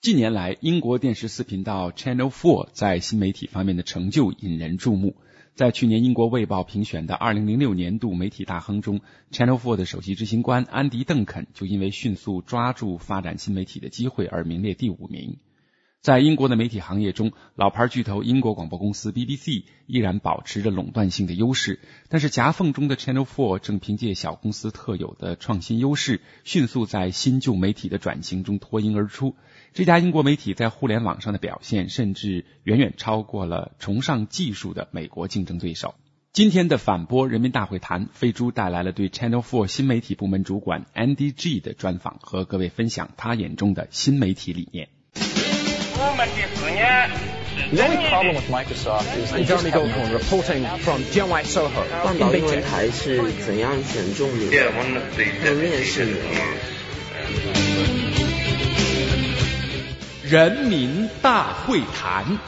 近年来，英国电视4频道 Channel 4在新媒体方面的成就引人注目。在去年英国卫报评选的2006年度媒体大亨中， Channel 4的首席执行官安迪·邓肯就因为迅速抓住发展新媒体的机会而名列第5名。在英国的媒体行业中，老牌巨头英国广播公司 BBC 依然保持着垄断性的优势，但是夹缝中的 Channel 4正凭借小公司特有的创新优势，迅速在新旧媒体的转型中脱颖而出。这家英国媒体在互联网上的表现甚至远远超过了崇尚技术的美国竞争对手。今天的反播人民大会谈，飞猪带来了对 Channel 4新媒体部门主管 Andy G 的专访，和各位分享他眼中的新媒体理念。 The only problem with Microsoft is that Jeremy Goldcorn reporting from Jianwai Soho 半岛英文台是怎样选中你的？还有面试你了吗？ 人民大会谈，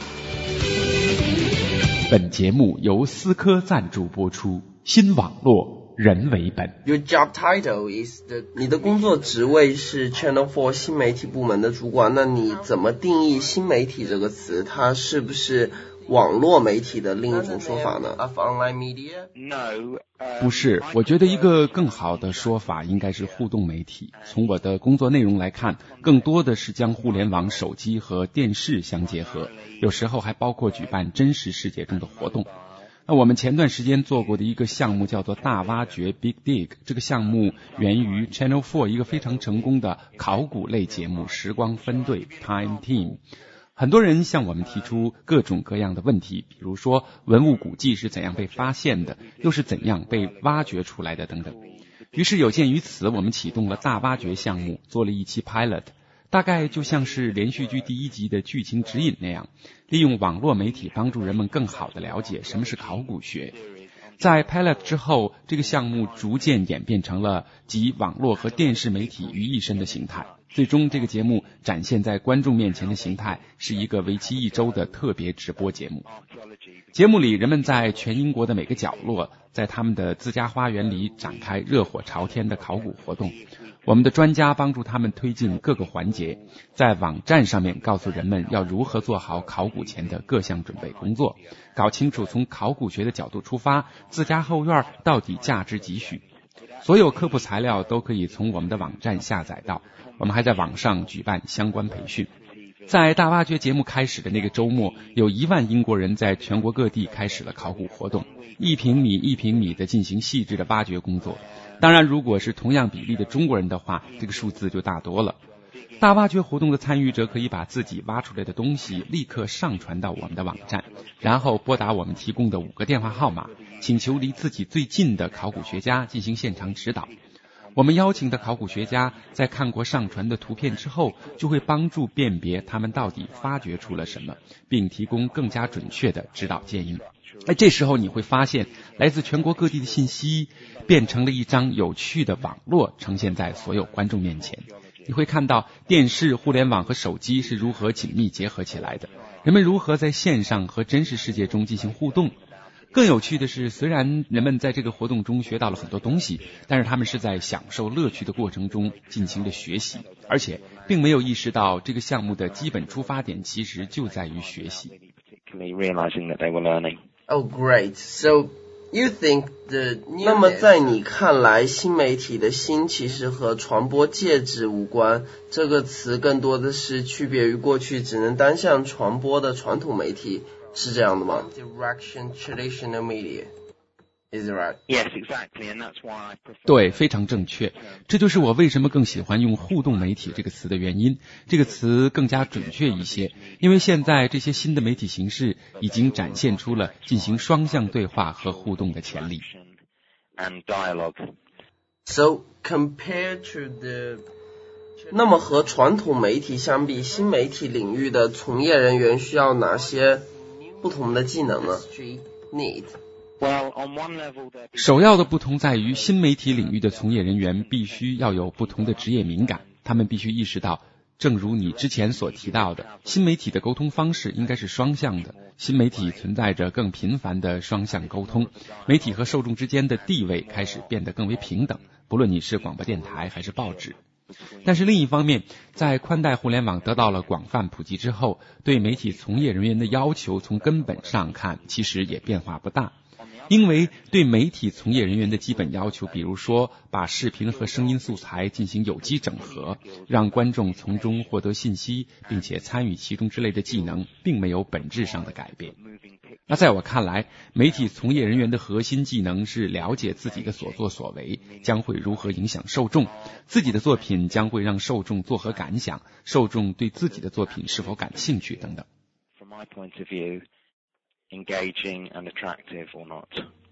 本节目由思科赞助播出，新网络人为本。 Your job title is 你的工作职位是 Channel 4新媒体部门的主管，那你怎么定义新媒体这个词？它是不是网络媒体的另一种说法呢？ Of online media? No. 不是，我觉得一个更好的说法应该是互动媒体。从我的工作内容来看，更多的是将互联网、手机和电视相结合，有时候还包括举办真实世界中的活动。那我们前段时间做过的一个项目叫做大挖掘 Big Dig， 这个项目源于 Channel 4一个非常成功的考古类节目时光分队 Time Team。很多人向我们提出各种各样的问题，比如说文物古迹是怎样被发现的，又是怎样被挖掘出来的等等。于是有鉴于此，我们启动了大挖掘项目，做了一期 pilot， 大概就像是连续剧第1集的剧情指引那样，利用网络媒体帮助人们更好地了解什么是考古学。在 pilot 之后，这个项目逐渐演变成了集网络和电视媒体于一身的形态。最终这个节目展现在观众面前的形态是一个为期1周的特别直播节目。节目里人们在全英国的每个角落，在他们的自家花园里展开热火朝天的考古活动。我们的专家帮助他们推进各个环节，在网站上面告诉人们要如何做好考古前的各项准备工作，搞清楚从考古学的角度出发，自家后院到底价值几许。所有科普材料都可以从我们的网站下载到，我们还在网上举办相关培训。在大挖掘节目开始的那个周末，有1万英国人在全国各地开始了考古活动，1平米1平米的进行细致的挖掘工作。当然，如果是同样比例的中国人的话，这个数字就大多了。大挖掘活动的参与者可以把自己挖出来的东西立刻上传到我们的网站，然后拨打我们提供的5个电话号码，请求离自己最近的考古学家进行现场指导。我们邀请的考古学家在看过上传的图片之后，就会帮助辨别他们到底发掘出了什么，并提供更加准确的指导建议。这时候你会发现，来自全国各地的信息变成了一张有趣的网络，呈现在所有观众面前。你会看到电视、互联网和手机是如何紧密结合起来的，人们如何在线上和真实世界中进行互动。更有趣的是，虽然人们在这个活动中学到了很多东西，但是他们是在享受乐趣的过程中进行了学习，而且并没有意识到这个项目的基本出发点其实就在于学习。 Oh, great. So you think that 那么在你看来，新媒体的新其实和传播介质无关，这个词更多的是区别于过去只能单向传播的传统媒体，是这样的吗？ Direction traditional media. Is it right? Yes, exactly, and that's why I prefer. 对，非常正确。这就是我为什么更喜欢用互动媒体这个词的原因。这个词更加准确一些，因为现在这些新的媒体形式已经展现出了进行双向对话和互动的潜力。 And dialogue. So compared to the 那么和传统媒体相比，新媒体领域的从业人员需要哪些不同的技能呢？ Well, on one level, 首要的不同在于，新媒体领域的从业人员必须要有不同的职业敏感，他们必须意识到，正如你之前所提到的，新媒体的沟通方式应该是双向的，新媒体存在着更频繁的双向沟通，媒体和受众之间的地位开始变得更为平等，不论你是广播电台还是报纸。 但是另一方面，在宽带互联网得到了广泛普及之后，对媒体从业人员的要求从根本上看其实也变化不大。因为对媒体从业人员的基本要求，比如说把视频和声音素材进行有机整合，让观众从中获得信息并且参与其中之类的技能，并没有本质上的改变。那在我看来，媒体从业人员的核心技能是了解自己的所作所为将会如何影响受众，自己的作品将会让受众作何感想，受众对自己的作品是否感兴趣等等。 Engaging and attractive or not.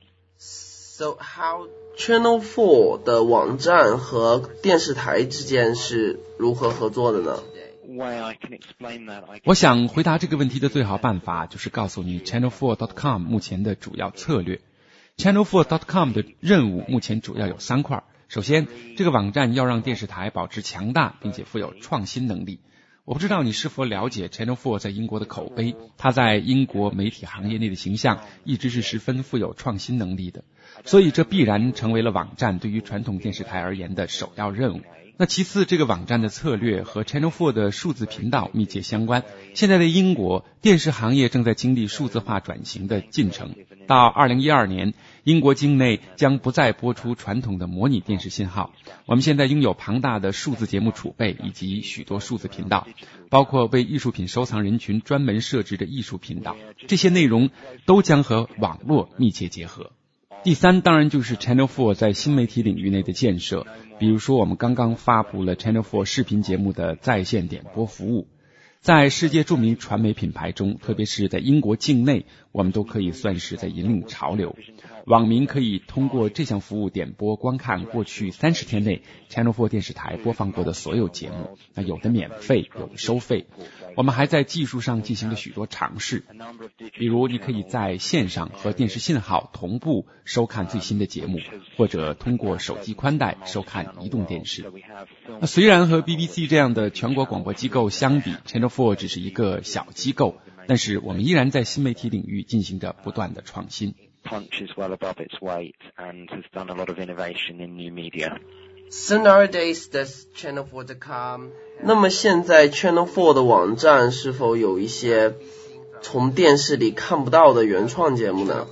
So how Channel 4的网站和电视台之间是如何合作的呢？ 我想回答这个问题的最好办法就是告诉你 channel4.com 目前的主要策略。channel4.com 的任务目前主要有3块。首先，这个网站要让电视台保持强大并且富有创新能力。我不知道你是否了解 Channel 4在英国的口碑，它在英国媒体行业内的形象一直是十分富有创新能力的，所以这必然成为了网站对于传统电视台而言的首要任务。那其次，这个网站的策略和 Channel 4的数字频道密切相关。现在的英国电视行业正在经历数字化转型的进程，到2012年，英国境内将不再播出传统的模拟电视信号。我们现在拥有庞大的数字节目储备以及许多数字频道，包括为艺术品收藏人群专门设置的艺术频道，这些内容都将和网络密切结合。第三，当然就是 Channel 4在新媒体领域内的建设，比如说我们刚刚发布了 Channel 4视频节目的在线点播服务。在世界著名传媒品牌中，特别是在英国境内，我们都可以算是在引领潮流。网民可以通过这项服务点播观看过去30天内 Channel 4电视台播放过的所有节目，有的免费，有的收费。我们还在技术上进行了许多尝试，比如你可以在线上和电视信号同步收看最新的节目，或者通过手机宽带收看移动电视。虽然和 BBC 这样的全国广播机构相比， Channel 4只是一个小机构，但是我们依然在新媒体领域进行着不断的创新。 Punches well above its weight and has done a lot of innovation in new media. So nowadays, does Channel4.com 那么现在 Channel 4的网站是否有一些从电视里看不到的原创节目呢？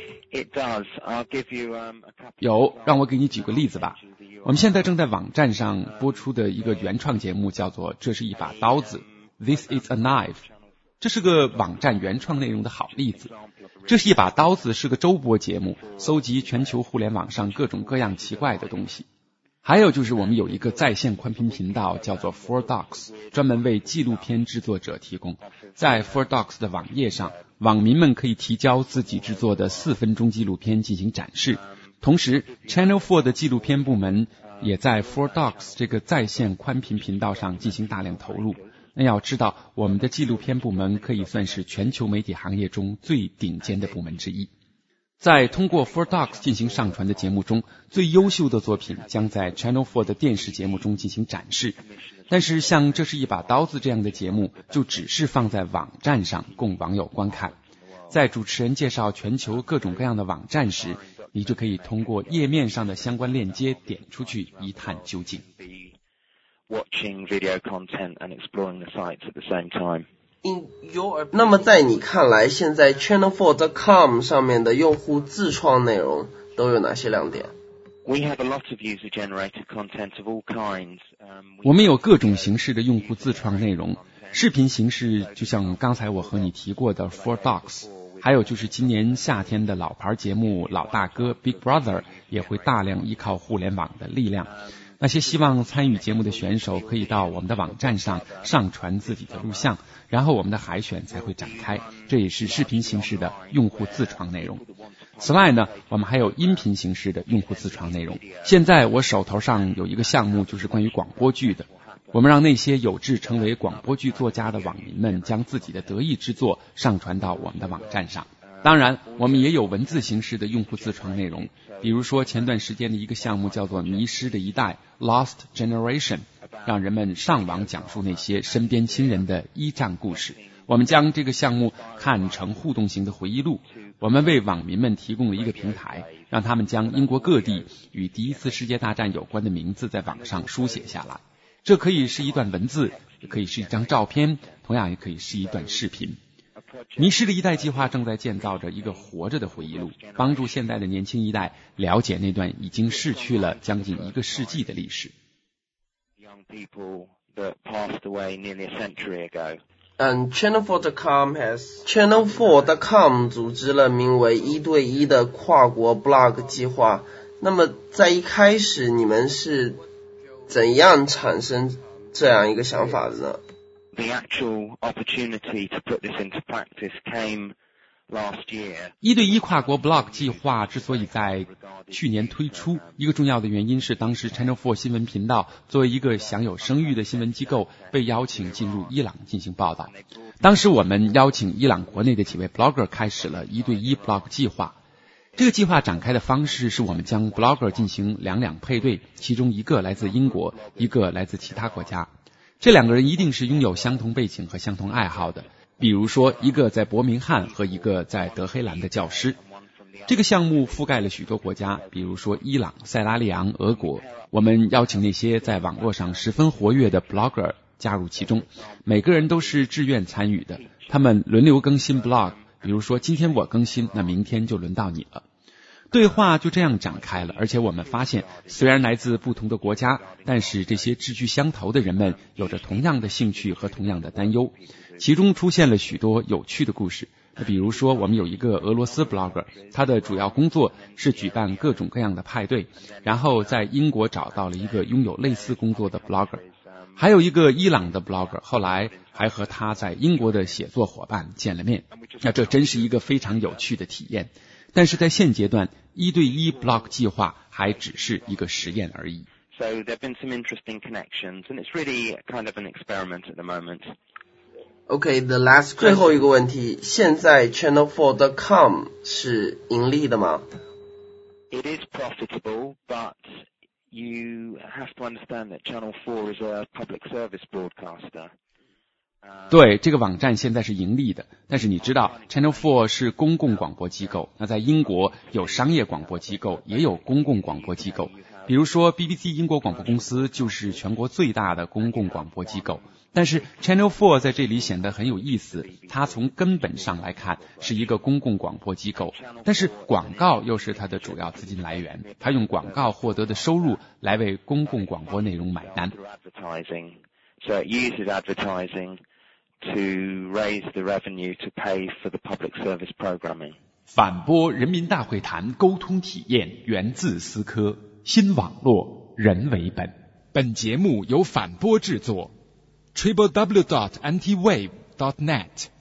It does. I'll give you a couple. 有，让我给你举个例子吧。我们现在正在网站上播出的一个原创节目叫做《这是一把刀子》 This is a Knife， 这是个网站原创内容的好例子。这是一把刀子是个周播节目，搜集全球互联网上各种各样奇怪的东西。还有就是我们有一个在线宽频频道叫做 4Docs， 专门为纪录片制作者提供。在 4Docs 的网页上，网民们可以提交自己制作的4分钟纪录片进行展示。同时 Channel 4的纪录片部门也在 4Docs 这个在线宽频频道上进行大量投入。那要知道，我们的纪录片部门可以算是全球媒体行业中最顶尖的部门之一。在通过 4Docs 进行上传的节目中，最优秀的作品将在 Channel 4的电视节目中进行展示。但是像这是一把刀子这样的节目，就只是放在网站上供网友观看。在主持人介绍全球各种各样的网站时，你就可以通过页面上的相关链接点出去一探究竟。 Watching video content and exploring the sites at the same time. 那么在你看来，现在 channel4.com 上面的用户自创内容都有哪些亮点？ We have a lot of user-generated content of all kinds. 我们有各种形式的用户自创内容，视频形式就像刚才我和你提过的 4Docs， 还有就是今年夏天的老牌节目老大哥 Big Brother 也会大量依靠互联网的力量。那些希望参与节目的选手可以到我们的网站上上传自己的录像，然后我们的海选才会展开，这也是视频形式的用户自创内容。此外呢，我们还有音频形式的用户自创内容。现在我手头上有一个项目，就是关于广播剧的。我们让那些有志成为广播剧作家的网民们将自己的得意之作上传到我们的网站上。当然，我们也有文字形式的用户自创内容，比如说前段时间的一个项目叫做迷失的一代 Lost Generation， 让人们上网讲述那些身边亲人的依仗故事。 我们将这个项目看成互动型的回忆录，我们为网民们提供了一个平台，让他们将英国各地与第一次世界大战有关的名字在网上书写下来。这可以是一段文字，也可以是一张照片，同样也可以是一段视频。迷失的一代计划正在建造着一个活着的回忆录，帮助现在的年轻一代了解那段已经逝去了将近1个世纪的历史。 Channel4.com 组织了名为1对1的跨国 blog 计划。那么在一开始你们是怎样产生这样一个想法的呢 ？The actual opportunity to put this into practice came last year. 1对1跨国 blog 计划之所以在去年推出，一个重要的原因是当时 Channel 4新闻频道作为一个享有声誉的新闻机构被邀请进入伊朗进行报道。当时我们邀请伊朗国内的几位 blogger 开始了1对1 blog 计划。这个计划展开的方式是我们将 blogger 进行两配对，其中一个来自英国，一个来自其他国家。这2个人一定是拥有相同背景和相同爱好的，比如说一个在伯明翰和一个在德黑兰的教师。这个项目覆盖了许多国家，比如说伊朗、塞拉利昂、俄国。我们邀请那些在网络上十分活跃的 blogger 加入其中，每个人都是志愿参与的，他们轮流更新 blog， 比如说今天我更新，那明天就轮到你了。对话就这样展开了，而且我们发现虽然来自不同的国家，但是这些志趣相投的人们有着同样的兴趣和同样的担忧，其中出现了许多有趣的故事。比如说我们有一个俄罗斯 blogger， 他的主要工作是举办各种各样的派对，然后在英国找到了一个拥有类似工作的 blogger。还有一个伊朗的 blogger， 后来还和他在英国的写作伙伴见了面。那这真是一个非常有趣的体验。但是在现阶段1对1 blog 计划还只是一个实验而已。 So there have been some interesting connections and it's really kind of an experiment at the moment. Okay, the last 最后一个问题，现在 Channel4.com 是盈利的吗？ It is profitable, but you have to understand that Channel 4 is a public service broadcaster. 对，这个网站现在是盈利的，但是你知道 Channel 4是公共广播机构，那在英国有商业广播机构，也有公共广播机构，比如说 BBC 英国广播公司就是全国最大的公共广播机构。但是 Channel 4在这里显得很有意思，它从根本上来看是一个公共广播机构，但是广告又是它的主要资金来源，它用广告获得的收入来为公共广播内容买单。 So it uses advertising to raise the revenue to pay for the public service programming. 反播人民大会堂沟通体验源自思科，新网络人为本。本节目由反播制作 www.antiwave.net